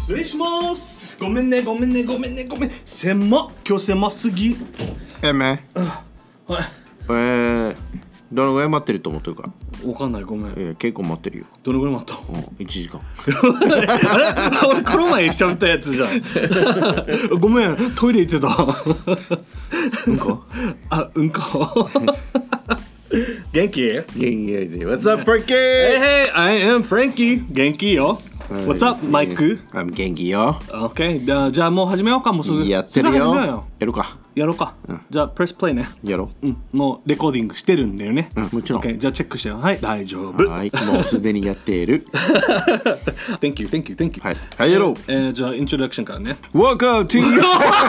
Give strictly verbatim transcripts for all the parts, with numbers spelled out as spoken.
失礼します。ごめんねごめんねごめんねごめん。狭っ、今日狭すぎ。 えめはい。 えー、どのぐらい待ってると思ってるか。 わかんない、ごめん。 えー、結構待ってるよ。 どのぐらい待った？ うん、いちじかん。 あれ俺この前喋ったやつじゃん。ごめん、トイレ行ってた。 うんこあ、うんこ。元気？ 元気やで。What's up, Frankie? Hey, hey, I am Frankie. 元気よ。What's up, マイク？ I'm 元気よ。 OK、じゃあ、じゃあもう始めようか。もうすぐやってるよ。 すぐ始めようよ。 やるか。 やろうか。 うん、 じゃあ、プレスプレイね。 やろう。うん、もうレコーディングしてるんだよね。 うん、もちろん。 OK、じゃあチェックしてよ。はい、大丈夫。 はい、もうすでにやっている。 Thank you, thank you, thank you。 はい、はい、やろう。 えー、じゃあ、イントロダクションからね。 Welcome to you!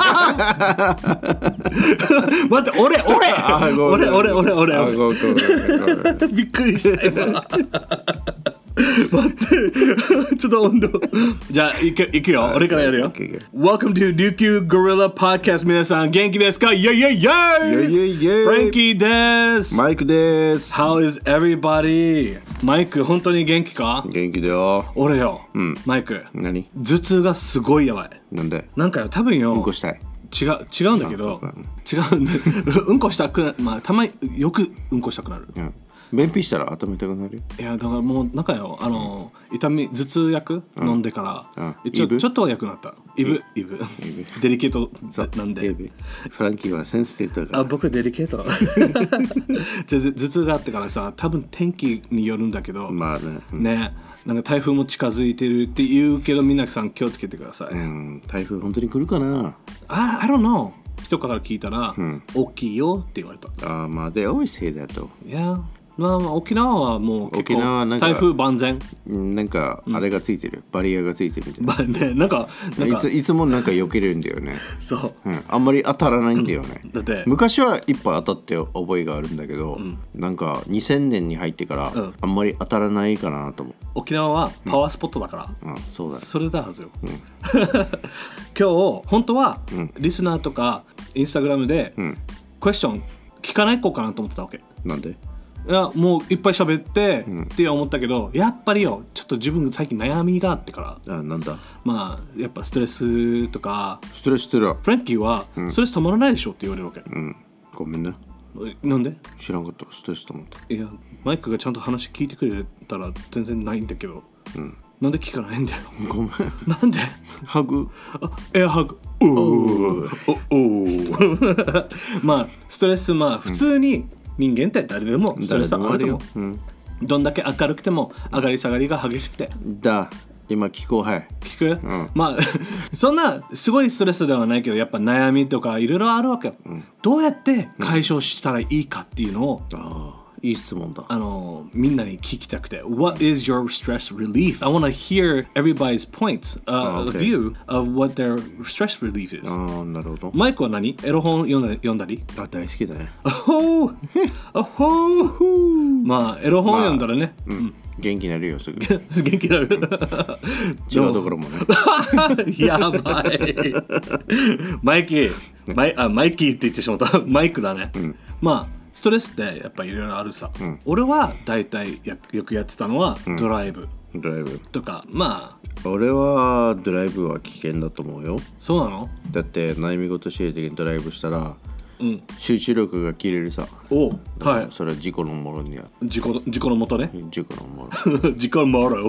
待って、俺、俺俺、俺、俺、俺、 あ、ごめんごめんごめん。 びっくりした今。待ってちょっと温度じゃあいくいくよ俺からやるよ okay, okay. Welcome to 琉球 Gorilla Podcast 皆さん元気ですかイェイイェイイェイイェイイェイイェイフランキーですマイクです How is everybody? マイク本当に元気か元気だよ俺よ、 うん、 マイク何頭痛がすごいやばいなんでなんかよ多分ようんこしたい違う違うんだけど違うんだうんこしたくなまあたまによくうんこしたくなる、 うん便秘したら頭痛くなるいやだからもうなんかよあの、うん、痛み頭痛薬、うん、飲んでから、うん、ちょちょっとは良くなったイブイブデリケートなんでフランキーはセンシティブだからあ僕デリケートじゃ頭痛があってからさ多分天気によるんだけどまあね、 うん、ねなんか台風も近づいてるって言うけど皆さん気をつけてください、うん、 台風本当に来るかなあ I don't know 人から聞いたら、うん、大きいよって言われたあまあ they always say that though yeahまあ、沖縄はもう結構台風万全なんかあれがついてる、うん、バリアがついてるみたいな、 ね、なんかなんかいついつもなんか避けるんだよねそう、 うん、あんまり当たらないんだよねだって昔はいっぱい当たって覚えがあるんだけど、うん、なんかにせんねんに入ってから、うん、あんまり当たらないかなと思う沖縄はパワースポットだから、 うん、あそうだそれだはずよ、うん、今日本当は、うん、リスナーとかインスタグラムで、うん、クエスチョン聞かない子かなと思ってたわけなんでいやもういっぱい喋って、うん、って思ったけどやっぱりよちょっと自分最近悩みがあってからあなんだまあやっぱストレスとかストレスってるフランキーは、うん、ストレスたまらないでしょって言われるわけ、 うん、ごめんねなんで知らんかったストレスと思ったいやマイクがちゃんと話聞いてくれたら全然ないんだけど、うん、なんで聞かないんだよごめんなんでハグエアハグおおおまあストレスまあ普通に、うん人間って誰でもストレスあるよ、うん、どんだけ明るくても上がり下がりが激しくてだ今聞こうはい聞く、うん、まあそんなすごいストレスではないけどやっぱ悩みとかいろいろあるわけよ、うん、どうやって解消したらいいかっていうのを、 うん、ああいい質問だあのみんなに聞きたくて What is your stress relief? I want to hear everybody's points、uh, okay. view of what their stress relief is ああなるほどマイクは何エロ本読んだ読んだりあ大好きだねあほーあほーまあエロ本読んだらね、 まあうん、元気になるよすぐ元気になる違うところもねやばいマイキーマイあマイキーって言ってしまったマイクだね、うん、まあストレスってやっぱいろいろあるさ、うん、俺はだいたいやよくやってたのはドライブ、 うん、ドライブとかまあ俺はドライブは危険だと思うよそうなのだって悩み事してる時にドライブしたら、うん、集中力が切れるさおはいそれは事故のもろには事故事故のもとね事故のもろ事故のもろ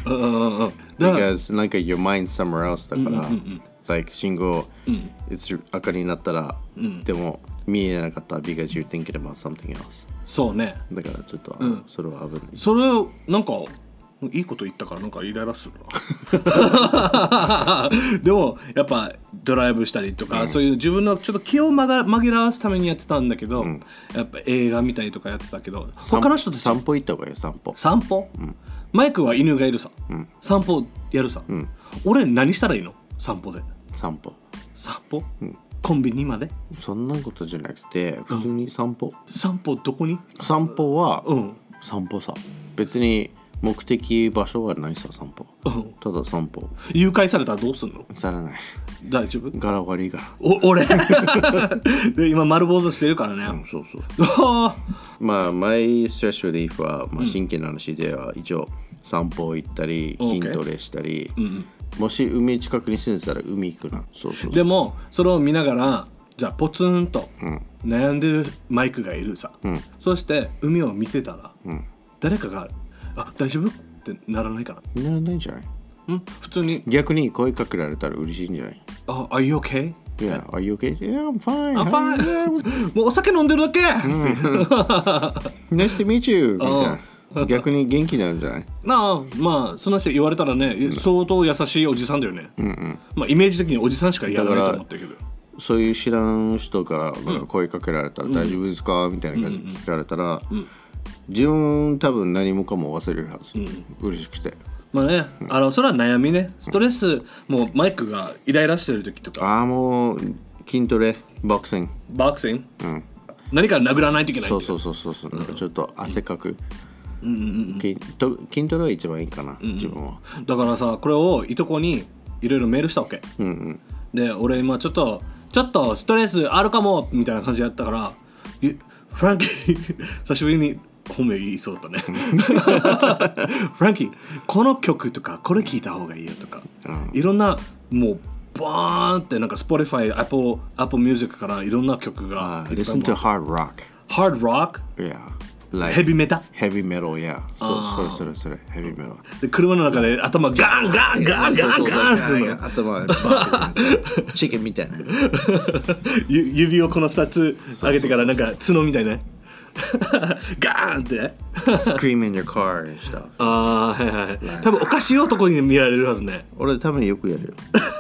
because なんか your mind somewhere else だから、うんうんうん、like 信号、うん、赤になったら、うん、でも見えなかった because you're thinking about something else そうねだからちょっと、うん、それは危ないそれなんかいいこと言ったからなんかイライラするなでもやっぱドライブしたりとか、うん、そういう自分のちょっと気を紛らわすためにやってたんだけど、うん、やっぱ映画見たりとかやってたけど他の人たち散歩行った方がいいよ散歩散歩、うん、マイクは犬がいるさ、うん、散歩やるさ、うん、俺何したらいいの散歩で散歩散歩、うんコンビニまでそんなことじゃなくて普通に散歩、 うん、散歩どこに散歩は、 うん、 散歩さ別に目的場所はないさ散歩、うん、ただ散歩誘拐されたらどうすんのされない大丈夫柄悪いからお俺で今丸坊主してるからね、 うん、そうそうまあマイストレスリリーフは、まあ、真剣な話では一応散歩行ったり、うん、筋トレしたり、うんもし海近くに住んでたら海行くな。そうそうそう。 でもそれを見ながらじゃあポツンと悩んでるマイクがいるさ、うん、そして海を見てたら、うん、誰かがあ大丈夫ってならないかな。 ならないんじゃない？ うん普通に逆に声かけられたら嬉しいんじゃない？ あ、Are you okay? Yeah, are you okay? Yeah, I'm fine. I'm fine. もうお酒飲んでるだけ、うん、 Nice to meet you みたいな。逆に元気になるんじゃない？ なあ、まあそんな人言われたらね、うん、相当優しいおじさんだよね、うんうん、まあイメージ的におじさんしかやらないと思ってるけど、 そういう知らん人から声かけられたら、うん、大丈夫ですかみたいな感じで聞かれたら、うんうん、自分多分何もかも忘れるはず、うん、嬉しくて。 まあね、あのそれは悩みね、ストレス、うん、もうマイクがイライラしてる時とか、 ああもう筋トレ、ボクシング、 ボクシング、うん、何か殴らないといけない。 そうそうそうそうそう、なんかちょっと汗かく、うんうんうん、筋, 筋トレは一番いいかな、うんうん、自分は。 だからさ、これをいとこにいろいろメールしたわけ、うんうん、で俺今ちょっとちょっとストレスあるかもみたいな感じだったから、フランキー久しぶりに本名言いそうだったねフランキーこの曲とかこれ聞いた方がいいよとか、うん、いろんなもうバーンってなんか Spotify、Apple、Apple Music からいろんな曲が、 uh, Listen to hard rock Hard rock? Yeah Like ヘビメタヘビメタル、yeah そうそれそれそれヘビメタルで車の中で頭ガンガンガンガンガンするの頭バーンチキンみたいな指をこのふたつ上げてからなんか角みたいなガーンって Scream in your car and stuff ああーはいはい多分おかしい男に見られるはずね。 俺多分よくやるよ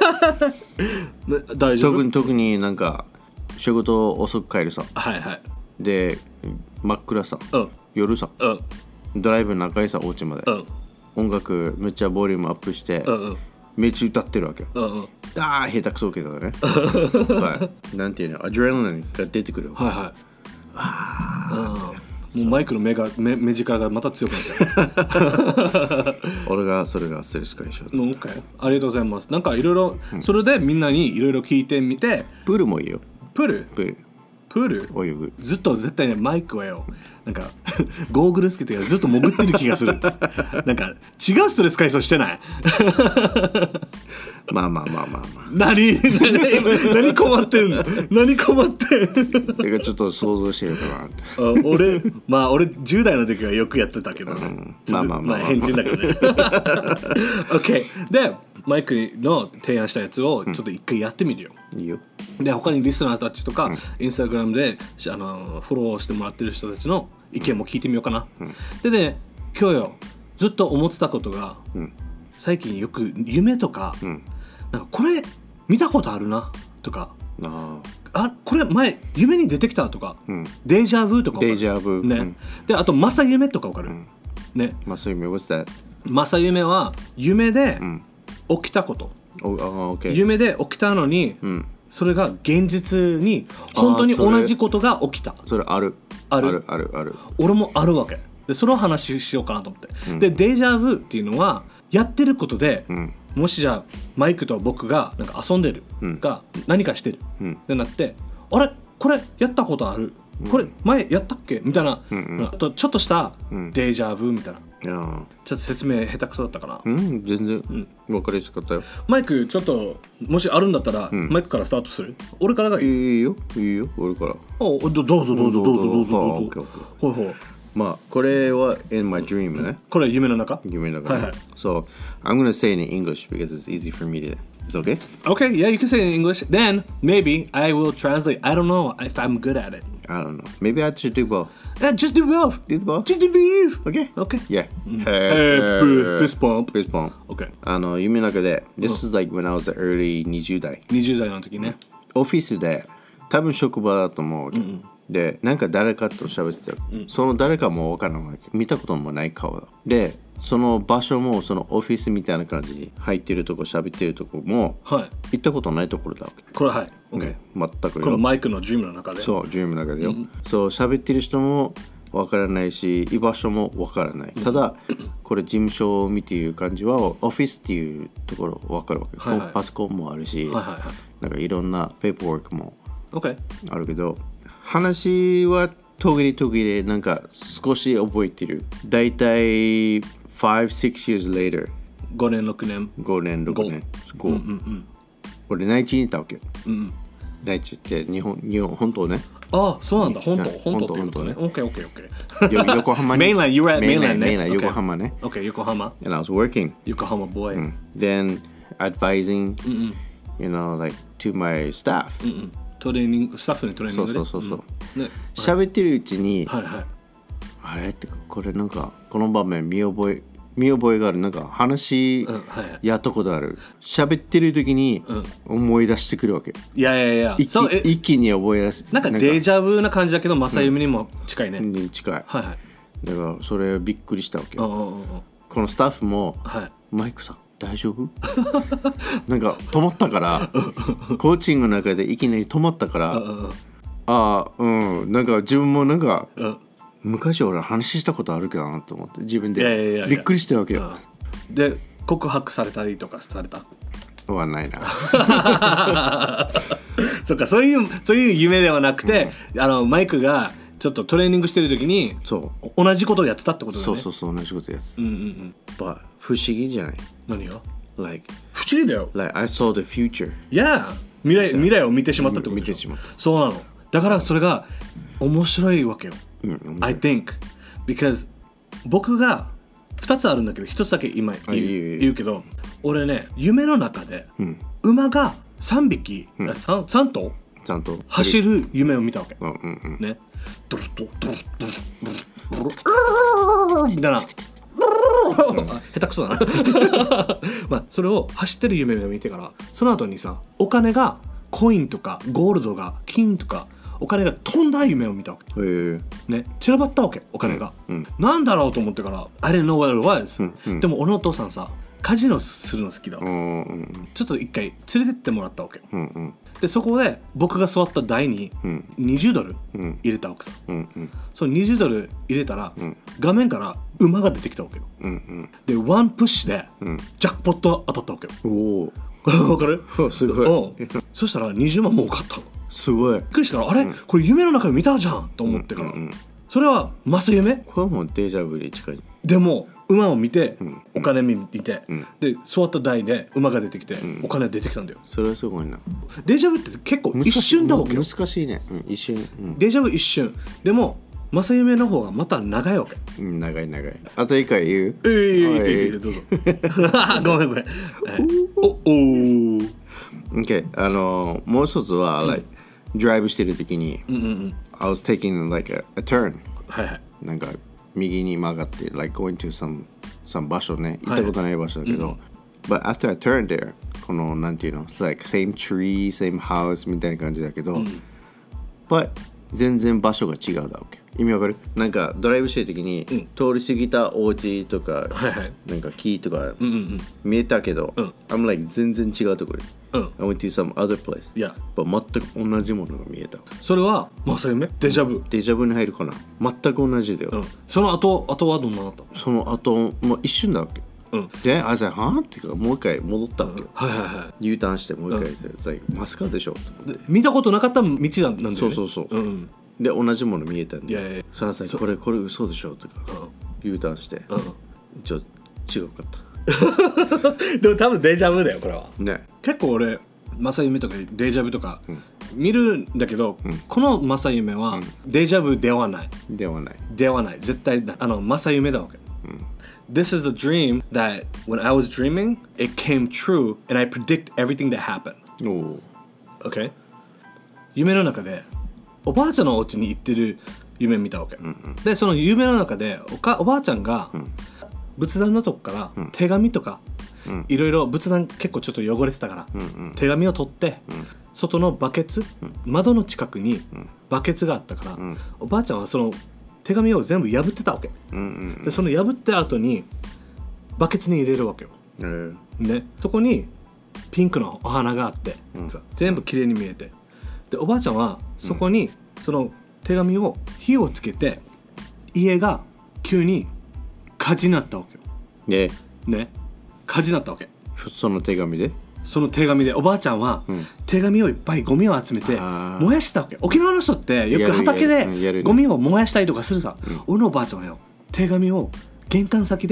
大丈夫？ 特に特になんか仕事遅く帰るさ、 はいはいで真っ暗さ、 うん、 夜さ、 うん、 ドライブ長いさお家まで、うん、音楽めっちゃボリュームアップして、うんうん、めっちゃ歌ってるわけ、うんうん、ああ下手くそけどねはい、なんていうのアドレナリンが出てくるはいはいあもうマイクの目が 目, 目力がまた強くなった俺がそれがストレス解消、 okay、ありがとうございます。なんかいろいろそれでみんなにいろいろ聞いてみて、 プールもいいよ。 プールプールプール泳ぐずっと絶対ねマイクはよなんかゴーグルつけてずっと潜ってる気がするなんか違うストレス解消してないまあまあまあまあまあ何何何困ってんの何困ってんのてかちょっと想像してるかなってあ俺まあ俺じゅう代の時はよくやってたけどね、うん、 まあまあまあまあ、 まあ、変人だけどねOK でマイクの提案したやつをちょっと一回やってみるよ、 うん、いいよ。 で他にリスナーたちとか、うん、インスタグラムであのフォローしてもらってる人たちの意見も聞いてみようかな、うん、でね今日よずっと思ってたことが、うん、最近よく夢とか、うん、なんかこれ見たことあるなとかああこれ前夢に出てきたとか、うん、デイジャブとかデイジャブ、 ね、うん、であと正夢とかわかる、うん、ね正夢 what's that 正夢は夢で起きたこと、 oh, oh, okay. 夢で起きたのに、うんそれが現実に本当に同じことが起きた。 それあるあるあるあるある俺もあるわけでそれを話しようかなと思って、うん、でデイジャブっていうのはやってることで、うん、もしじゃあマイクと僕がなんか遊んでる、うん、が何かしてる、うん、ってなってあれこれやったことある、うん、これ前やったっけみたいな、うんうん、あとちょっとしたデイジャブみたいな、ちょっと説明下手くそだったかな。 うん全然、うん、分かりやすかったよ。 マイクちょっともしあるんだったら、うん、マイクからスタートする。俺からがいい。 いいよいいよ俺から。 おどどうぞどうぞどうぞどうぞどうぞ。ほいほい。 まあこれは in my dream ね。 これ夢の中？ 夢の中。はいはい。So I'm gonna say it in English because it's easy for me to. It's okay? Okay, yeah, you can say it in English. Then maybe I will translate. I don't know if I'm good at it. I don't know. Maybe I should do both. Yeah, just do both. Do both? Just do both. Okay. Okay. Yeah. Hey, fist bump. Fist bump. Okay. あの夢の中で This is like when I was early にじゅう代。 にじゅう代の時ね。 オフィスで多分職場だと思うわけ。うんうん、でなんか誰かと喋ってた、うん、その誰かも分からないわけ。見たこともない顔だ。でその場所もそのオフィスみたいな感じに入ってるとこ喋ってるとこも、はい、行ったことないところだわけ。 これはい、OK、 うん、全くこのマイクのジムの中でそうジムの中でよ、うん、そう喋ってる人も分からないし居場所も分からない、うん、ただこれ事務所を見ている感じはオフィスっていうところ分かるわけ、はいはい、パソコンもあるし、はいはいはい、なんかいろんなペーパーワークもあるけど、okay、話は途切れ途切れなんか少し覚えてる。だいたいfive, six years later ごねんろくねんごねんろくねんご、 うんうんうん、 俺内地にいたわけよ、 うんうん、 内地って日本日本本当ね。 ああそうなんだ本当本当っていうことね。オッケーオッケーオッケー。横浜に。 Mainland, you were at mainland ね。 mainland 横浜ね。 Okay, 横浜。 And I was working. 横浜 boy、うん。 Then advising, うんうん、 you know, like to my staff、 うんうん。トレーニングスタッフにトレーニングで。 そうそうそうそう。 うん、ね。 喋ってるうちに、 はいはい。 あれってかこれなんかこの場面見覚え見覚えがある、なんか話やったことある、喋ってる時に思い出してくるわけ。 いやいやいや、 一 気, 一気に覚え出す。 なんかデジャブな感じだけど正夢にも近いね、 うん、近い、 はいはい、 だからそれびっくりしたわけ。 うんうんうん、 このスタッフも、はい、マイクさん大丈夫なんか止まったからコーチングの中でいきなり止まったから、ああうんなんか自分もなんか、うん、昔俺話したことあるけどなと思って自分でびっくりしてるわけよ。 で告白されたりとかされたはないなそっか、そういうそういう夢ではなくて、うん、あのマイクがちょっとトレーニングしてる時にそう同じことをやってたってことだね。 そうそうそう同じことやつ、 うんうんうん、 But 不思議じゃない？ 何が？ Like 不思議だよ。 Like I saw the future。 Yeah、 未来未来を見てしまったってことでしょ。見てしまった。そうなの。だからそれが面白いわけよ、うん、I think because 僕がふたつあるんだけどひとつだけ今言 う, いい言うけど、俺ね夢の中で、うん、馬がさんびき、うん、3, 3頭ちゃんと走る夢を見たわけ、 うんうんうん、 ねドルドルドルドルドルみたいな下手くそだなまあそれを走ってる夢を見てからその後にさお金がコインとかゴールドが金とかお金が飛んだ夢を見たわけ、ね、散らばったわけお金が、うん、なんだろうと思ってから I didn't know what it was、うんうん、でも俺のお父さんさカジノするの好きだわけ、うんうん、ちょっと一回連れてってもらったわけ、うんうん、でそこで僕が座った台ににじゅうドル入れたわけさ、うんうん、そのにじゅうドル入れたら、うん、画面から馬が出てきたわけよ、うんうん、でワンプッシュで、うん、ジャックポット当たったわけよ。おわかる？ すごい。 そしたらにじゅうまんも多かったの。 すごい。 びっくりしたから、あれ、うん、これ夢の中で見たじゃんと思ってから、うんうんうん、それは正夢？ これはもうデジャブに近い。 でも馬を見て、うん、お金見て、うん、で座った台で馬が出てきて、うん、お金出てきたんだよ。 それはすごいな。 デジャブって結構一瞬だわけよ。 難しいね、うん、一瞬、うん、 デジャブ一瞬でも正夢の方がまた長いわけ、 うん、長い長い。あと一回言う？ えー、いいいいいいどうぞごめんごめんおおー OK あのもう一つは、うん、like ドライブしてる時に、うんうんうん、I was taking like a, a turn、はいはい、なんか右に曲がって like going to some, some 場所ね、行ったことない場所だけど、はい、but after I turned there このなんていうの it's like same tree same house みたいな感じだけど、うん、but 全然場所が違うだわけ。意味わかる？なんかドライブしてる時に、うん、通り過ぎたお家とか、はいはい、なんか木とか、うんうんうん、見えたけど、うん、I'm like 全然違うところ、うん、I went to some other place、yeah. but 全く同じものが見えた。それは正夢？デジャブ？デジャブに入るかな。全く同じだよ、うん、その後後はどんなだった？その後もう一瞬だわけ、うん、で、あ、じゃあはっていうかもう一回戻ったわけ、うん、はいはいはい、U ターンしてもう一回、うん、マスカでしょと思って見たことなかった道なんだよね。そうそうそう、うん、で同じもの見えたんで、いやいやさあさあこれこれ嘘でしょとか、うん、U ターンして、うん、ちょっと違うかったでも多分デジャブだよこれは、ね、結構俺正夢とかデジャブとか見るんだけど、うん、この正夢はデジャブではない、うん、ではないではない絶対あの正夢だわけ、うん、This is the dream that when I was dreaming it came true and I predict everything that happened. Okay? 夢の中でおばあちゃんのお家に行ってる夢見たわけ、うんうん、でその夢の中で お, かおばあちゃんが、うん、仏壇のとこから手紙とか、うん、いろいろ仏壇結構ちょっと汚れてたから、うんうん、手紙を取って、うん、外のバケツ、うん、窓の近くにバケツがあったから、うん、おばあちゃんはその手紙を全部破ってたわけ、うんうんうん、でその破った後にバケツに入れるわけよ、うん、でそこにピンクのお花があって、うん、全部きれいに見えて、でおばあちゃんはそこにその手紙を火をつけて家が急に火事になったわけよ。ね、ね、火事になったわけ。その手紙でその手紙でおばあちゃんは手紙をいっぱいゴミを集めて燃やしたわけ。沖縄の人ってよく畑でゴミを燃やしたりとかするさ、うん、俺のおばあちゃんはよ手紙を玄関先で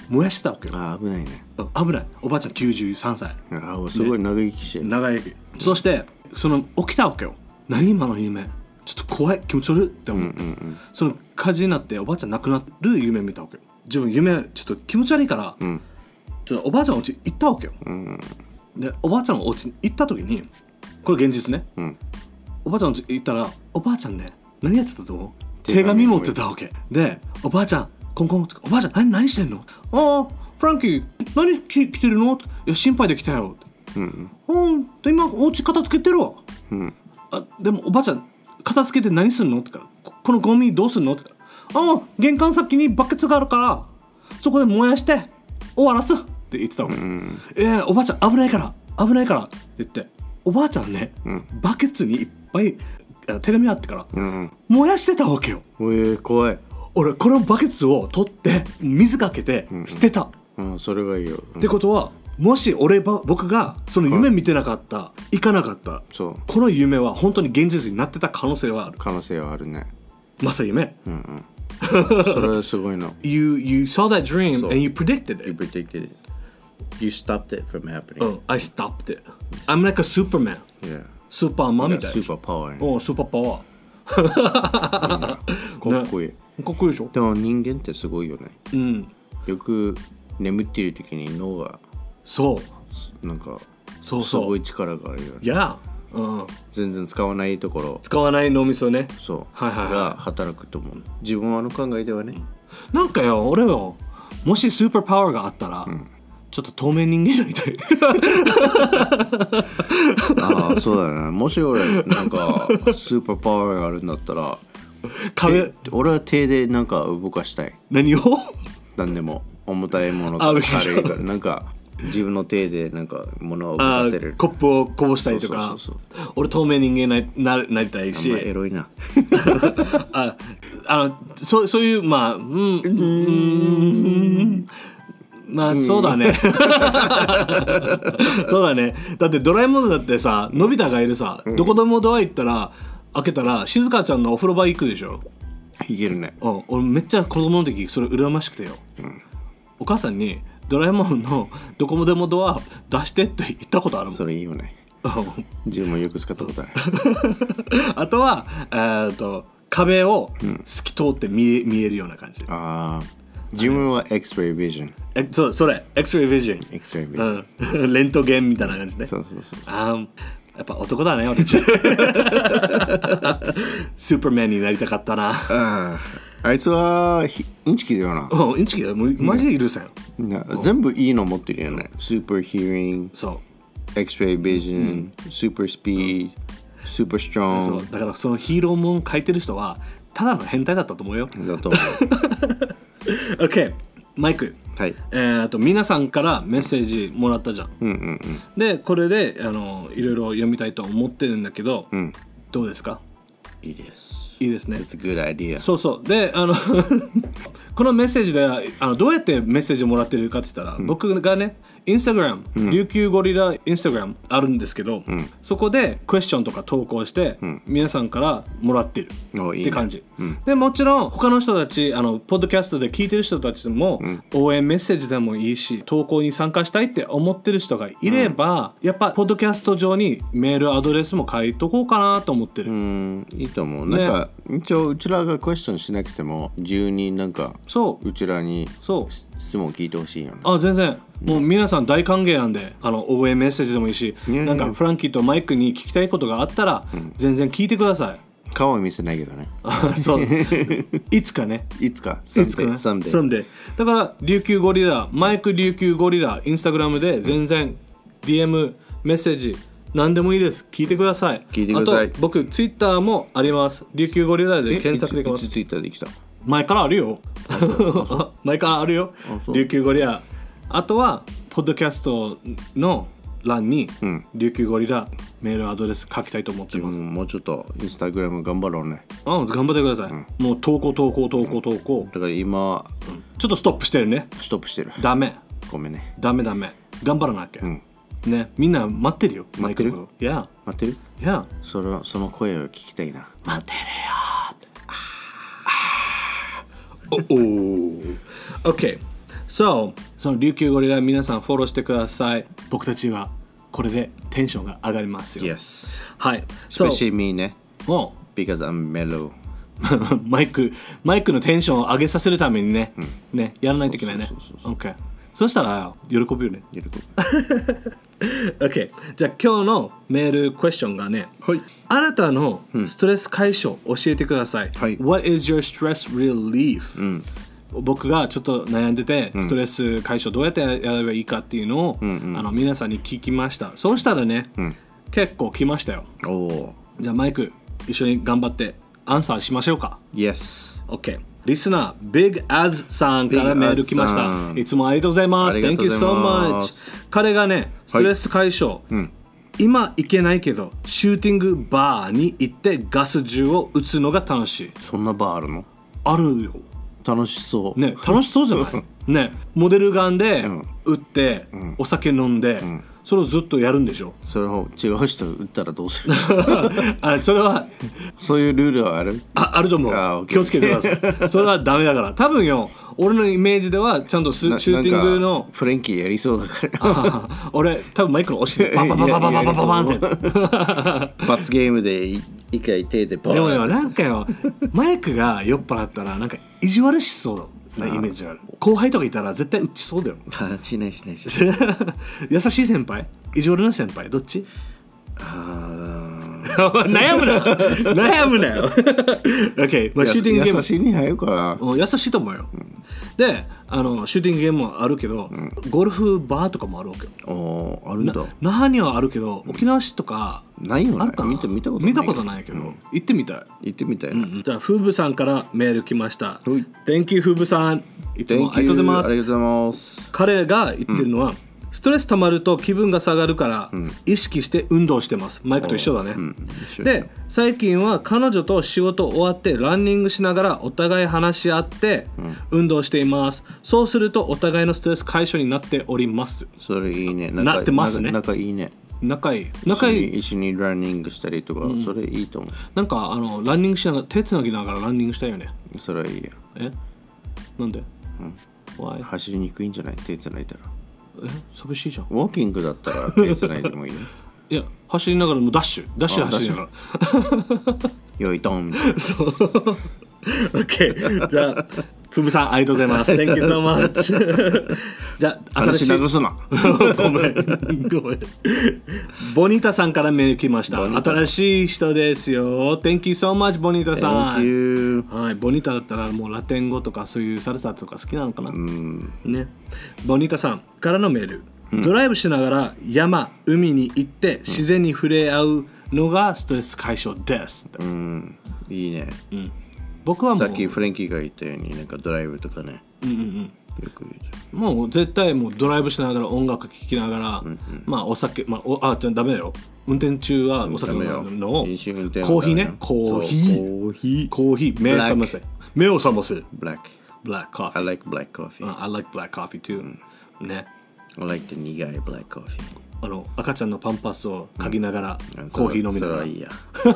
燃やしたわけよ。 あ、危ないね。 危ない。おばあちゃんきゅうじゅうさんさい。 あ、すごい長生きしてる、ね、 長生き。そしてその起きたわけよ。何今の夢、ちょっと怖い、気持ち悪いって思う、うんうんうん、その火事になっておばあちゃん亡くなる夢見たわけよ。自分夢ちょっと気持ち悪いから、うん、ちょっとおばあちゃんのお家行ったわけよ、うん、でおばあちゃんのお家に行った時に、これ現実ね、うん、おばあちゃんの家行ったらおばあちゃんね、何やってたと思う？手紙持ってたわけで、おばあちゃんコンコン、おばあちゃん 何, 何してんの？ああフランキー何来てるの？いや心配で来たよ、うん、うん、で今お家片付けてるわ、うん、あでもおばあちゃん片付けて何すんのって言うから、このゴミどうすんのって言ったら、ああ玄関先にバケツがあるからそこで燃やして終わらすって言ってたわけ、うん、えー、おばあちゃん危ないから危ないからって言って、おばあちゃんね、うん、バケツにいっぱい手紙あってから、うん、燃やしてたわけよ。 えー、怖い。 俺このバケツを取って水かけて捨てた、 うんうん、それがいいよ、 うん、ってことはもし俺ば僕がその夢見てなかった、行かなかった、そうこの夢は本当に現実になってた可能性はある。 可能性はあるね。 まさ夢。 うんうん。それはすごいな。 you you saw that dream and you predicted it. You predicted it. You stopped it from happening. Oh, I stopped it. I'm like a Superman. Yeah. スーパーマンみたいな。 スーパーパワー。 お、スーパーパワー。かっこいい。 かっこいいでしょ。 でも人間ってすごいよね。 うん。 よく眠っている時に脳が。 そう。 なんか。 そうそう。 すごい力があるよね。 いや。うん、 全然使わないところ使わない脳みそね、 そう、はいはいはい、が働くと思う。自分はの考えではね、 なんかよ俺よ、もしスーパーパワーがあったら、うん、ちょっと透明人間になりたいああそうだね。もし俺なんかスーパーパワーがあるんだったら壁俺は手でなんか動かしたい。 何を？ 何でも重たいものとか軽いからなんか自分の手でなんか物を動かせる。 コップをこぼしたりとか。そうそうそうそう、俺透明人間に な, なりたいし。 あんまエロいな。 ああの そ, そういうまあうん、うん、まあそうだね。そうだね。だってドラえもんだってさ、のび太がいるさ、うん、どこでもドア行ったら開けたら静香ちゃんのお風呂場行くでしょ。 行けるね。 うん、俺めっちゃ子供の時それ羨ましくてよ、うん、お母さんにドラえもんのどこでもドア出してって言ったことあるもん。 それいいよね。自分もよく使ったことある。 あとは、えー、と壁を透き通って見え、うん、見えるような感じ。 ああ、自分は X-ray vision。 え、そう、それ X-ray vision。 X-ray vision、 うん、レントゲンみたいな感じね。 そうそうそうそう。 あやっぱ男だね俺。スーパーマンになりたかったな。 ああいつはインチキだよな。 うん、インチキだよ。マジで許せん。 全部いいの持ってるよね。スーパーヒーリング、 そう、 X-ray vision、スーパースピード、スーパーストロング。 そうだからそのヒーローもん書いてる人はただの変態だったと思うよ。 だと思う。 OK、マイク。はい、えー、と皆さんからメッセージもらったじゃん。うんうんうん、でこれであのいろいろ読みたいと思ってるんだけど、うん、どうですか？ いいです。 いいですね。 It's a good idea。 そうそう。であのこのメッセージであのどうやってメッセージをもらってるかって言ったら、うん、僕がねインスタグラム、琉球ゴリラインスタグラムあるんですけど、うん、そこでクエスチョンとか投稿して、うん、皆さんからもらってるって感じ。いいね、うん、でもちろん他の人たちあのポッドキャストで聞いてる人たちも、うん、応援メッセージでもいいし投稿に参加したいって思ってる人がいれば、うん、やっぱポッドキャスト上にメールアドレスも書いとこうかなと思ってる。 うん、いいと思う。なんか、ね、一応うちらがクエスチョンしなくても自由になんかそううちらにそう質問聞いてほしいよね。 あ、全然もう皆さん大歓迎なんで、あの応援メッセージでもいいし、なんかフランキーとマイクに聞きたいことがあったら、うん、全然聞いてください。 顔は見せないけどね。 そういつかね。 いつか。 いつかね。サンデー。だから琉球ゴリラ、マイク琉球ゴリラインスタグラムで全然 ディーエム メッセージ何でもいいです。聞いてください。 聞いてください。 あと僕ツイッターもあります。琉球ゴリラで検索できます。 いつツイッターできた？ 前からあるよ。前からあるよ。琉球ゴリラ。あとはポッドキャストの欄に、うん、琉球ゴリラメールアドレス書きたいと思ってます。 もうちょっとインスタグラム頑張ろうね。 あ、頑張ってください。うん、もう投稿投稿投稿投稿。 だから今、 うん、ちょっとストップしてるね。 ストップしてる。 ダメ。 ごめんね。 ダメダメ。頑張らなきゃ。うん、ね、みんな待ってるよ。 待ってる？ いや。 待ってる？ いや。 それはその声を聞きたいな。 待ってるよ。おお。OK。 So その琉球ゴリラ皆さんフォローしてください。僕たちはこれでテンションが上がりますよ。 Yes. はい。 Especially me ね。 お Because I'm mellow. マイクマイクのテンションを上げさせるためにね、うん、ねやらないといけないね。 そうそうそうそう OK。そしたら喜ぶよね。 喜ぶ。 OK。じゃあ今日のメールクエスチョンがね、 はい。 あなたのストレス解消教えてください。 はい。 What is your stress relief?、 うん僕がちょっと悩んでて、ストレス解消どうやってやればいいかっていうのを、うんうん、あの皆さんに聞きました。そうしたらね、うん、結構来ましたよ。 おじゃあマイク一緒に頑張ってアンサーしましょうか。 Yes。 OK。リスナー Big Az さんからメール来ました。いつもありがとうございます。Thank you so much。彼がね、ストレス解消、はいうん、今行けないけどシューティングバーに行ってガス銃を撃つのが楽しい。 そんなバーあるの？ あるよ。 楽しそうね、楽しそうじゃないね、モデルガンで撃って、うん、お酒飲んで、うん、それをずっとやるんでしょ。 それを違う人撃ったらどうするあそれはそういうルールはあるあ, あると思う。気をつけてください。それはダメだから。多分よ俺のイメージではちゃんとシューティングのフレンキーやりそうだから俺多分マイクの押してバババババババババンって罰ゲームで一回手でバーン。 でもよなんかよマイクが酔っ払ったらなんか意地悪しそうなイメージがある。後輩とかいたら絶対打ちそうだよ。 あしないしないしない優しい先輩意地悪な先輩どっち？ あ悩むな悩むなよOK、まあ、シューティングゲーム優しいに入るから優しいと思うよ、うん、であのシューティングゲームもあるけど、うん、ゴルフバーとかもあるわけよ。 おあるんだ。 那覇にはあるけど沖縄市とかないよね。 あるかな。 見た見たことない見たことないけど、うん、行ってみたい行ってみたい、 うん、じゃあフーブさんからメール来ました。 Thank you フーブさんいつもありがとうございます。 ありがとうございます。 彼が言ってるのは、うんストレス溜まると気分が下がるから、うん、意識して運動してます。マイクと一緒だね、うん、で最近は彼女と仕事終わってランニングしながらお互い話し合って運動しています、うん、そうするとお互いのストレス解消になっております。 それいいね。 なってますね。 仲いいね。 仲いい仲いい。一緒にランニングしたりとか、うん、それいいと思う。 なんかあのランニングしながら手つなぎながらランニングしたいよね。 それはいいよ。 えなんで、 うん、走りにくいんじゃない？手つないだら。 え寂しいじゃん。 ウォーキングだったら手つないでもいいね。 いや走りながらもうダッシュダッシュ走りながらよいドンみたいな。 そう OK じゃあふぶさんありがとうございます Thank you so much じゃあ新しい話すなごめんごめんボニータさんからメール来ました。新しい人ですよ。 Thank you so much ボニータさん。 Thank you。 はい、ボニータだったらもうラテン語とかそういうサルサとか好きなのかな、 うんね、ボニータさんからのメール、うん、ドライブしながら山海に行って自然に触れ合うのがストレス解消です、 うん、いいね、 うん、僕はもうさっきフレンキーが言ったようになんかドライブとかね、 うんうんうん、よく言うじゃん。もう絶対もうドライブしながら音楽聴きながら、うんうん、まあお酒、まあ、おあダメだよ。運転中はお酒飲むのをコーヒーね、コーヒーコーヒーコーヒー目を覚ませ目を覚ませ Black Black coffee I like black coffee、uh, I like black coffee too、うん、ね I like the 苦い black coffee。 あの赤ちゃんのパンパスを嗅ぎながら、うん、コーヒー飲みながら。 それはいいや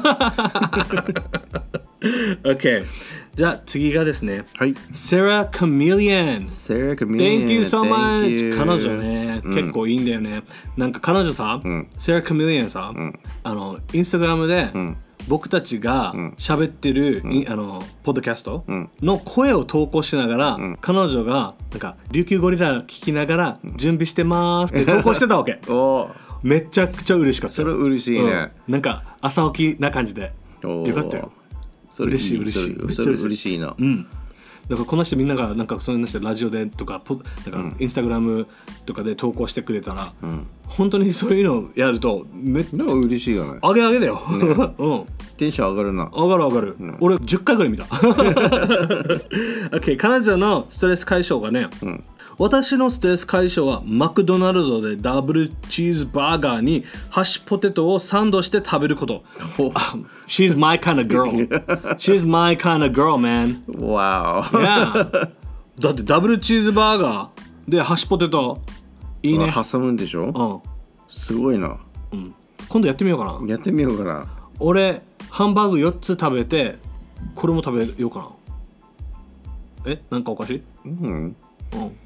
OK じゃあ次がですね、 はい、 Sarah Chameleon Sarah Chameleon Thank you so much。 彼女ね、うん、結構いいんだよね。なんか彼女さ、うん、Sarah Chameleon さ、うん、あのインスタグラムで、うん、僕たちが喋ってる、うん、あのポッドキャストの声を投稿しながら、うん、彼女がなんか琉球ゴリラ聞きながら準備してますって投稿してたわけおめちゃくちゃ嬉しかった。 それ嬉しいね、 うん、なんか朝起きな感じでよかったよ。 それ嬉しい嬉しい。それ嬉しいな。 うん。だからこの人みんながなんかそういうのしてラジオでとかポなんかインスタグラムとかで投稿してくれたら、うん、本当にそういうのをやるとめっちゃ嬉しいよね。 あげあげだよ。ねうん。 テンション上がるな。 上がる上がる。うん、俺じゅっかいぐらい見た。OK 彼女のストレス解消がね。うん私のストレス解消はマクドナルドでダブルチーズバーガーにハッシュポテトをサンドして食べること。She's my kind of girl. She's my kind of girl, man. Wow. Yeah. だってダブルチーズバーガーでハッシュポテトいいね。 挟むんでしょ？うん。すごいな。 うん。今度やってみようかな。 やってみようかな。 俺ハンバーグよっつ食べてこれも食べようかな。え？なんかおかしい？ うん。 うん。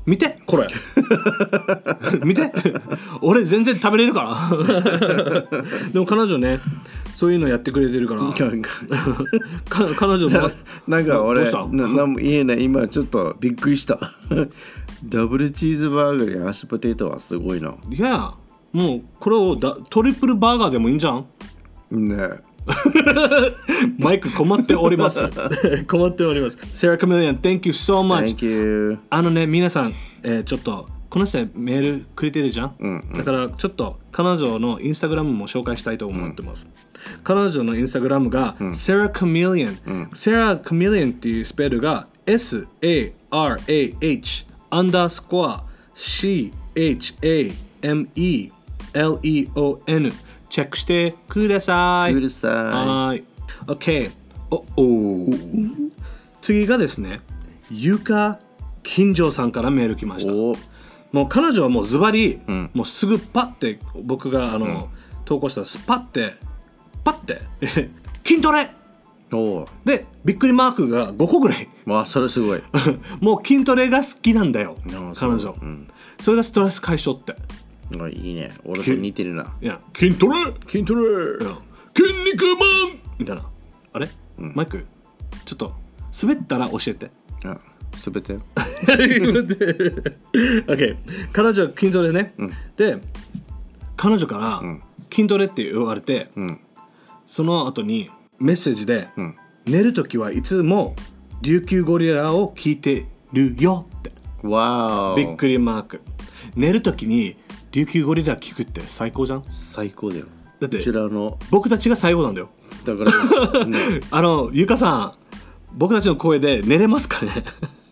見てこれ見て俺全然食べれるからでも彼女ねそういうのやってくれてるからか彼女もなんか俺どうしたななんも言えない今ちょっとびっくりしたダブルチーズバーガーにハッシュポテトはすごいな。 いやもうこれをだトリプルバーガーでもいいんじゃんねえマイク困っております困っております。 Sarah Chameleon Thank you so much. Thank you. あのね皆さん、えー、ちょっとこの人メールくれてるじゃん、うんうん、だからちょっと彼女のインスタグラムも紹介したいと思ってます、うん、彼女のインスタグラムが、うん、Sarah Chameleon、うん、Sarah Chameleon っていうスペルが エス エー アール エー エイチ アンダースコア シー エイチ エー エム イー エル イー オー エヌ チェックしてください。 ください。 はい。OK。おお。次がですね、ゆか金城さんからメール来ました。もう彼女はもうズバリ、うん、もうすぐパッて僕があの、うん、投稿したらスパッてパッて筋トレおでびっくりマークがごこぐらい。 わあそれすごい。 もう筋トレが好きなんだよ彼女、うん、それがストレス解消って。 あいいね俺と似てるな。 いや筋トレ筋トレ筋肉マンみたいなあれ、うん、マイクちょっと滑ったら教えて。 あ滑って OK 彼女は筋トレね、うん、で彼女から筋トレって言われて、うん、その後にメッセージで、うん、寝るときはいつも琉球ゴリラを聞いてるよってわーびっくりマーク。寝るときに琉球ゴリラ聞くって最高じゃん。 最高だよ。 だってこちらの僕たちが最後なんだよ。 だから、ね、 あのゆかさん僕たちの声で寝れますかね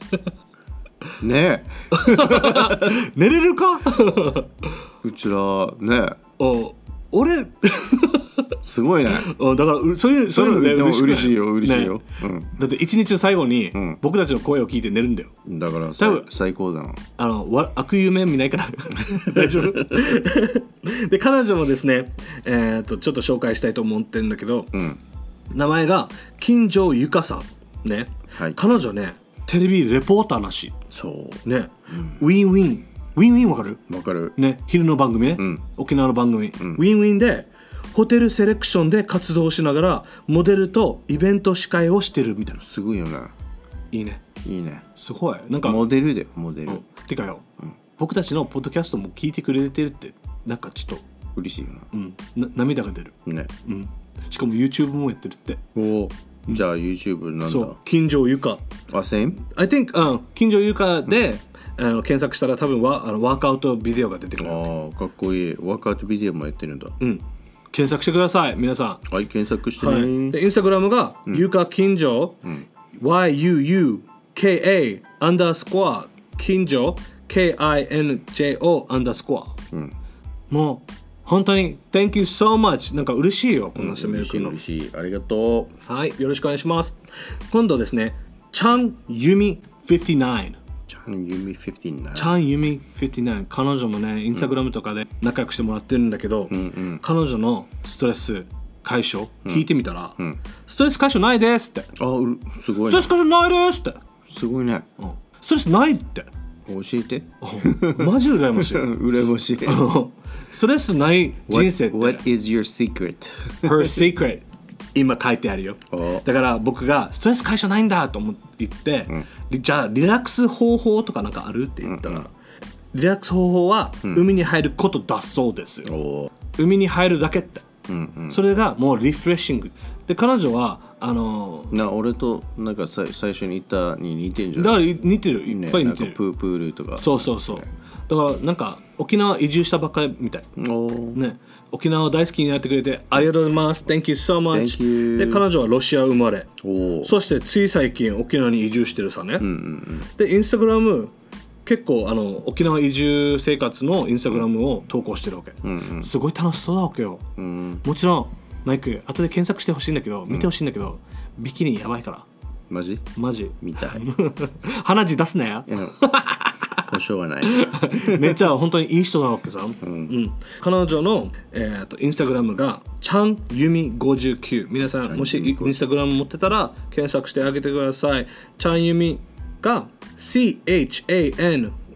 ねえ寝れるかうちらねお俺すごいね。 だからそういうそういうので嬉しいよ嬉しいよ、ねうん、だって一日の最後に僕たちの声を聞いて寝るんだよ。 だから多分最高だな。 あのわ悪夢見ないから大丈夫で彼女もですね、えー、とちょっと紹介したいと思ってるんだけど、うん、名前が金城ゆかさんね、はい、彼女ねテレビレポーターらしい。 そうね、うん、ウィンウィンウィンウィンわかるわかるね、昼の番組ね、うん、沖縄の番組、うん、ウィンウィンでホテルセレクションで活動しながらモデルとイベント司会をしてるみたいな。 すごいよね。 いいねいいねすごいなんかモデルでモデル、うん、 てかよ、うん、僕たちのポッドキャストも聞いてくれてるってなんかちょっと嬉しいよな、 うん、な涙が出るね、 うん、しかも YouTube もやってるって。 おじゃあ YouTube なんだ。 そう金城ゆかあ、same? I think、うん、金城ゆかで、うん、あの検索したら多分ワあのワークアウトビデオが出てくる。 ああかっこいい。ワークアウトビデオもやってるんだ。 うん検索してください皆さん。 はい検索してね、はい、 でインスタグラムが、うん、ゆか金城、うん、ワイユーユーケーエー アンダースコア金城 ケーアイエヌジェーオー アンダースコア、うん、もう本当に Thank you so much なんか嬉しいよこの人メールくんの、 うん、嬉しい嬉しいありがとう。はいよろしくお願いします。今度ですねチャンユミフィフティナインチャンユミフィフティナインチャンユミフィフティナイン彼女もねインスタグラムとかで仲良くしてもらってるんだけど、うんうん、彼女のストレス解消聞いてみたら、うんうん、ストレス解消ないですって。 あすごい、ね、 ストレス解消ないですってすごいね、 うん、ストレスないって教えてマジ羨ましい羨ましいストレスない人生って What, what is your secret? Her secret 今書いてあるよ。だから僕がストレス解消ないんだと思って言って、うん、じゃあリラックス方法とかなんかあるって言ったら、うんうん、リラックス方法は海に入ることだそうですよ、うん、海に入るだけって、うんうん、それがもうリフレッシングで彼女はあのー、 な俺となんか最初に言ったに似てるんじゃない。だから似てるいっぱい似てる、 ね、プープールとかそうそうそう、ね、だからなんか沖縄移住したばっかりみたい、ね、沖縄大好きになってくれてありがとうございます Thank you so much。 で彼女はロシア生まれそしてつい最近沖縄に移住してるさね、うんうんうん、でインスタグラム結構あの沖縄移住生活のインスタグラムを投稿してるわけ、うんうん、すごい楽しそうだわけよ、うん、もちろんマイク後で検索してほしいんだけど見てほしいんだけど、うん、ビキニやばいからマジマジ見たい鼻血出すなよ保証はないめっちゃ本当にいい人なわけさ、うんうん、彼女の、えー、とインスタグラムがチャンユミごじゅうきゅう。皆さんもしインスタグラム持ってたら検索してあげてください。チャンユミが シーエイチエーエヌ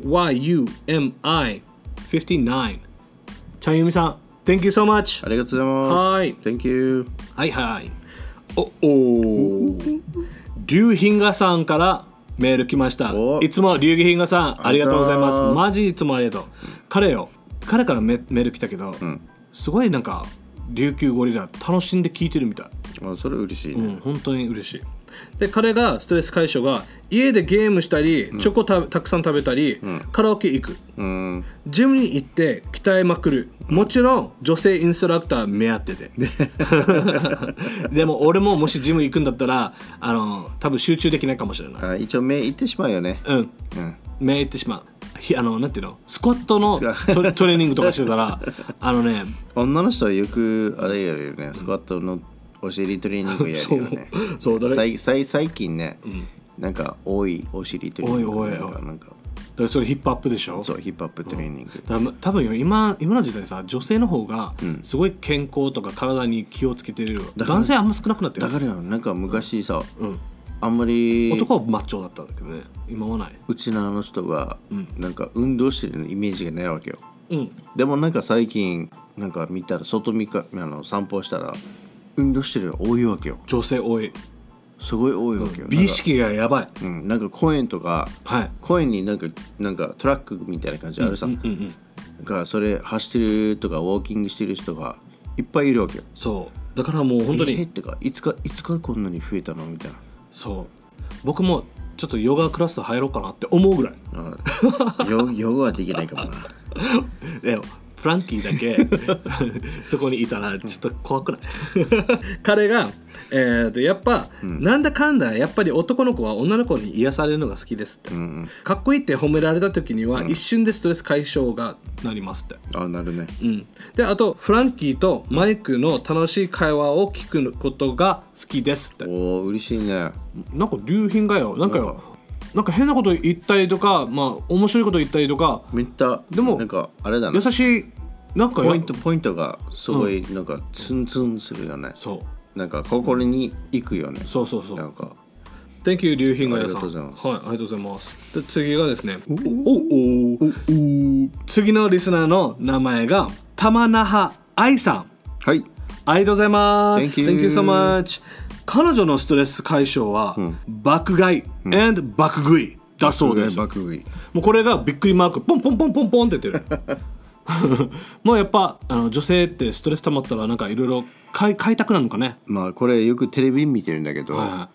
ワイユーエムアイフィフティナイン ちゃんゆみさん Thank you so much ありがとうございます。 はい Thank you。 はいはいおお龍ヒンガさんからメール来ました。いつも龍ヒンガさんありがとうございます。マジいつもありがとう。彼よ彼からメメール来たけど、うん、すごいなんか琉球ゴリラ楽しんで聞いてるみたい。 あ、それ嬉しいね。 うん、本当に嬉しい。で彼がストレス解消が家でゲームしたり、うん、チョコたたくさん食べたり、うん、カラオケ行く、うん、ジムに行って鍛えまくる、うん、もちろん女性インストラクター目当てででも俺ももしジム行くんだったらあの多分集中できないかもしれない。 あ、一応目いってしまうよね。 うん、うん、目いってしまう。あのなんていうのスクワットのトトレーニングとかしてたらあのね女の人はよくあれやるよね、スクワットのお尻トレーニングやるよね。そうそうだ最最近ね、うん、なんか多いお尻トレーニング。多い多い多い。なんかだからそれヒップアップでしょ。 そうヒップアップトレーニング。 うん、多分今今の時代さ女性の方がすごい健康とか体に気をつけてるよ。うん、男性あんま少なくなってる。 だからなんか昔さ、うん、あんまり男はマッチョだったんだけどね今はない。 うちのあの人がなんか運動してるイメージがないわけよ。うん、でもなんか最近なんか見たら外見かあの散歩したら運動してるの多いわけよ。 女性多い。すごい多いわけよ。美意識がやばい。 うん、なんか公園とか、はい、公園になんかなんかトラックみたいな感じあるさ。うんうんうん、だからそれ走ってるとかウォーキングしてる人がいっぱいいるわけよ。 そうだからもう本当に。 えー、ってかいつかいつからこんなに増えたのみたいな。 そう僕もちょっとヨガクラス入ろうかなって思うぐらい。 あヨヨガはできないかもな。 でもフランキーだけそこにいたらちょっと怖くない彼が、えー、とやっぱ、うん、なんだかんだやっぱり男の子は女の子に癒されるのが好きですって、うんうん、かっこいいって褒められた時には、うん、一瞬でストレス解消がなりますって。 あ、なるね、 うん、であとフランキーとマイクの楽しい会話を聞くことが好きですって。 おー嬉しいね。 なんか流品がよなんかよ、なんか変なこと言ったりとか、まあ面白いこと言ったりとか、 めっちゃでもなんかあれだな、 優しいなんかポイントポイントがすごいなんかツンツンするよね。うん、そうなんか心に行くよね。 そうそうそう。なんか Thank you 龍品がやさん。ありがとうございます。はい、ありがとうございます。で次がですね、おおお次のリスナーの名前が玉那覇愛さん。はい。ありがとうございます。Thank you, Thank you so much。彼女のストレス解消は、うん、爆買い、うん、and 爆食いだそうです。 爆食い。 もうこれがびっくりマークポンポンポンポンポンって言ってる。もうやっぱあの女性ってストレス溜まったらなんかいろいろ買い買いたくなるのかね。 まあこれよくテレビ見てるんだけど、はい、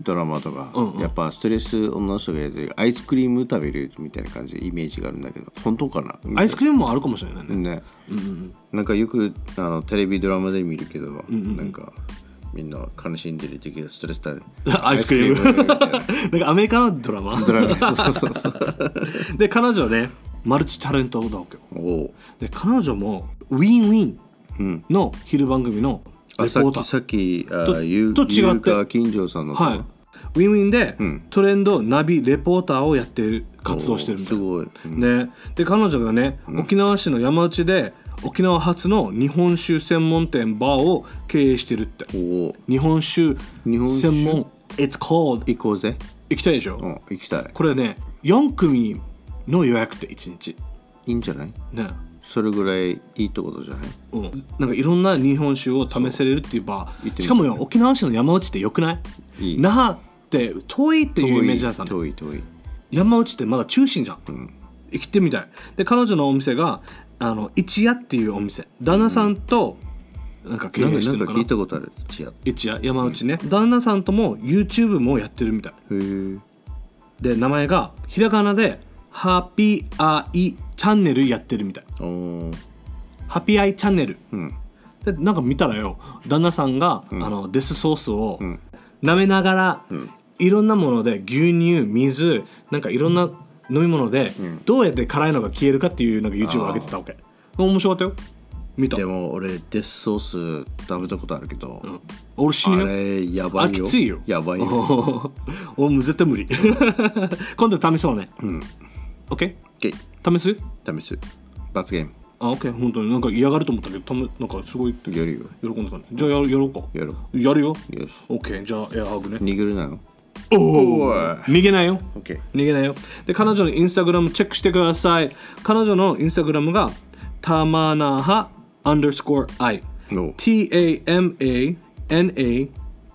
ドラマとか、うんうん、やっぱストレス女の人がやってるアイスクリーム食べるみたいな感じでイメージがあるんだけど本当かな。 アイスクリームもあるかもしれないね。ね、 うんうん、なんかよくあのテレビドラマで見るけど、うんうん、なんかみんな悲しんでる時はストレスだね。 アイスクリームなんかアメリカのドラマドラマそうそうそうそうで彼女ねマルチタレントだわけよ。で彼女もウィンウィンの昼番組のレポーター、 さっきさっきあゆと違って金城さんの、 はい、ウィンウィンで、うん、トレンドナビレポーターをやってる活動してるみたいな。すごい、うん、で, で彼女がね、うん、沖縄市の山内で沖縄初の日本酒専門店バーを経営してるって。お日本酒専門 It's called 行こうぜ。 行きたいでしょ。 うん、行きたい。 これねよん組の予約っていちにちいいんじゃないね。それぐらいいいってことじゃない。 うん、なんかいろんな日本酒を試せれるっていうバー。しかもよ沖縄市の山内ってよくない？いい。那覇って遠いっていうイメージだったんだ。 遠い遠い。 山内ってまだ中心じゃん。うん、行ってみたい。で彼女のお店があの一夜っていうお店。旦那さんとなんか経営してるのかな。 なんか聞いたことある。一夜。 一夜山内ね、うん。旦那さんとも YouTube もやってるみたい。へえ。で名前がひらがなでハピアイチャンネルやってるみたい。ハピアイチャンネル、うん、でなんか見たらよ旦那さんが、うん、あのデスソースを舐めながら、うん、いろんなもので牛乳水なんかいろんな飲み物で、うん、どうやって辛いのが消えるかっていうなんか YouTube を上げてたわけ。面白かったよ。見た。 でも俺デスソース食べたことあるけど、うん、 俺死ぬよ。 あれやばいよ。 あきついよ。 やばいよ。 俺も絶対無理。今度試そうね。うん。OK？ OK。 試す？ 試す。罰ゲーム。 あ、OK。本当になんか嫌がると思ったけど、なんかすごいやるよ。 喜んでたね。じゃあやろうか。 やろう。 やるよ。 よし。 OK。じゃあエアハグね。 握るなの？ おお逃げないよ、 OK、 逃げないよ。で彼女のインスタグラムチェックしてください。彼女のインスタグラムがたまなはアンダースコア I T A M A N A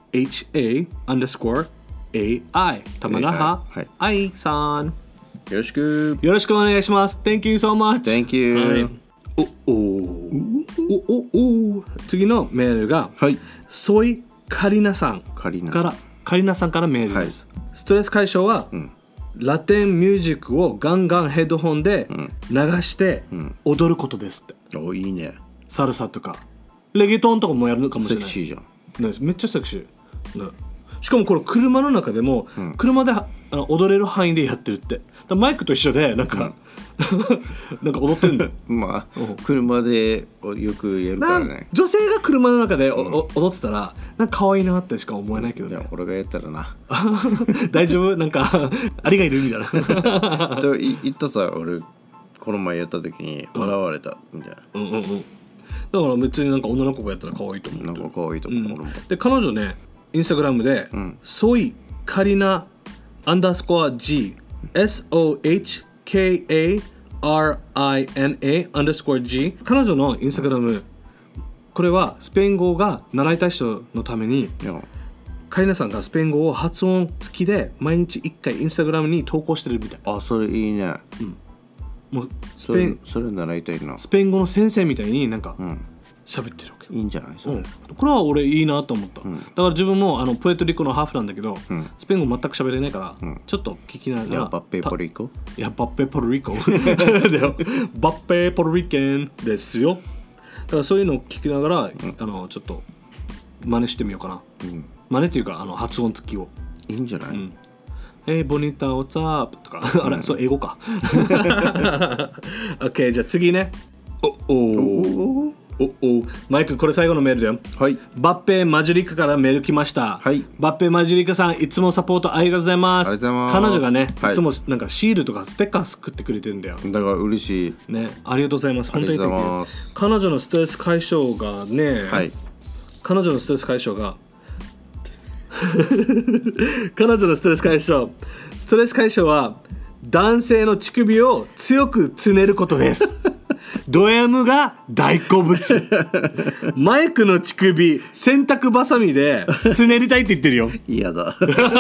H A アンダースコア A I たまなは I さん、 よろしくよろしくお願いします。 Thank you so much。 Thank you、はい、 おおおおお次のメールが、 はい、 ソイカリナさんカリナからカリナさんからメールです、はい、ストレス解消は、うん、ラテンミュージックをガンガンヘッドホンで流して踊ることですって、 うん、おいいね。 サルサとかレゲトンとかもやるのかもしれない。 セクシーじゃん、 ね、めっちゃセクシー、ね、しかもこれ車の中でも、うん、車であの踊れる範囲でやってるって。だマイクと一緒でなんか、うんなんか踊ってんだよ。 まあ、うん、車でよくやるからね。 女性が車の中でお、うん、踊ってたらなんか可愛いなってしか思えないけどね。 いや俺がやったらな大丈夫なんかありがいるみたいなと言ったさ、俺この前やった時に笑われたみたいな、 うん、うんうんうんだから別になんか女の子がやったら可愛いと思う。 なんか可愛いと思う、うん、 俺も。で彼女ねインスタグラムで、うん、ソイカリナアンダースコア G S O H K A R I N A アンダースコア G 彼女のインスタグラム、これはスペイン語が習いたい人のためにカリナさんがスペイン語を発音付きで毎日いっかいインスタグラムに投稿してるみたい。 あ、それいいね、うん、 もうスペインそ, それ習いたいな。 スペイン語の先生みたいになんか喋ってるわけ、 いいんじゃないそれ、うん、 これは俺いいなと思った、うん、だから自分もあのプエルトリコのハーフなんだけど、うん、スペイン語全く喋れないから、うん、ちょっと聞きながら。いやバッペポルリコいやバッペポルリコバッペポルリケンですよ。だからそういうのを聞きながら、うん、あのちょっと真似してみようかな、うん、真似っていうかあの発音付きを。 いいんじゃない、うん、 えー、ボニタ、what's up? とかあれ、それ英語かOK じゃあ次ね。おおおおマイクこれ最後のメールだよ。 はい。 バッペマジュリカからメール来ました。 はい。 バッペマジュリカさんいつもサポートありがとうございます。 ありがとうございます。 彼女がね、 はい、 いつもなんかシールとかステッカー作ってくれてるんだよ。 だから嬉しい。 ね、ありがとうございます。本当に。ありがとうございます。彼女のストレス解消がね、はい、彼女のストレス解消が彼女のストレス解消ストレス解消は男性の乳首を強くつねることですド M が大好物マイクの乳首洗濯バサミでつねりたいって言ってるよ。 嫌だ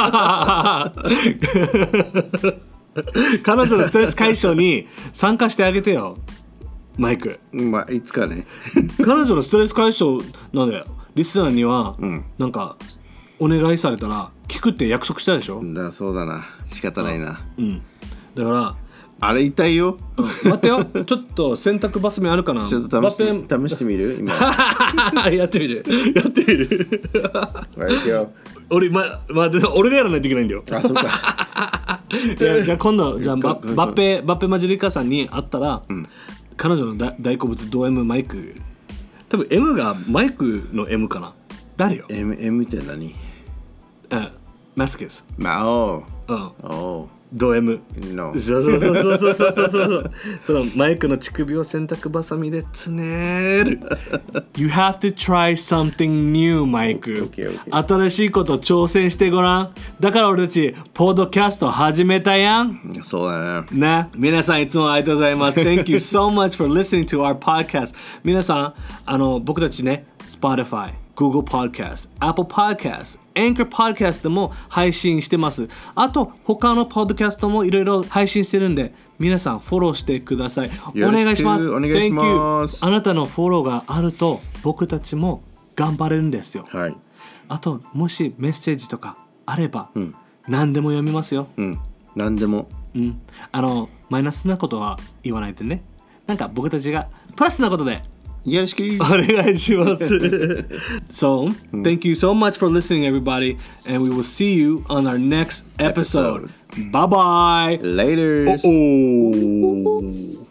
彼女のストレス解消に参加してあげてよマイク。 まあいつかね彼女のストレス解消なんでリスナーには、うん、なんかお願いされたら聞くって約束したでしょ。 だそうだな仕方ないな。 うん、だからあれ痛いよ、 うん、待ってよちょっと洗濯バサミあるかな。 ちょっと試して試してみる今やってみるやってみる俺、まま、俺がやらないといけないんだよ。 あそうかいやじゃあ今度じゃあバッペバッペマジリカさんに会ったら、うん、彼女の大好物ド M マイク多分 M がマイクの M かな。誰よ M, M って何。 あマスケス。 まあおう、うん、 おド M。 No。 そうそうそうそうそうそうそうそうそのマイクの乳首を洗濯バサミでつねるYou have to try something new マイク、 okay, okay. 新しいこと挑戦してごらん。だから俺たちポッドキャスト始めたやん。 そうだね。 ね、皆さんいつもありがとうございますThank you so much for listening to our podcast。 皆さんあの僕たちね Spotify、Google Podcast、Apple Podcast、Anchor Podcast でも配信してます。あと他のポッドキャストもいろいろ配信してるんで皆さんフォローしてください。お願いします。 お願いします。 Thank you。 あなたのフォローがあると僕たちも頑張れるんですよ、 はい、 あともしメッセージとかあれば、うん、何でも読みますよ、 うん、何でも、 うん、あのマイナスなことは言わないでね。なんか僕たちがプラスなことでよろしくお願いします。So, thank you so much for listening, everybody, and we will see you on our next episode. episode. Bye bye. Later. Oh.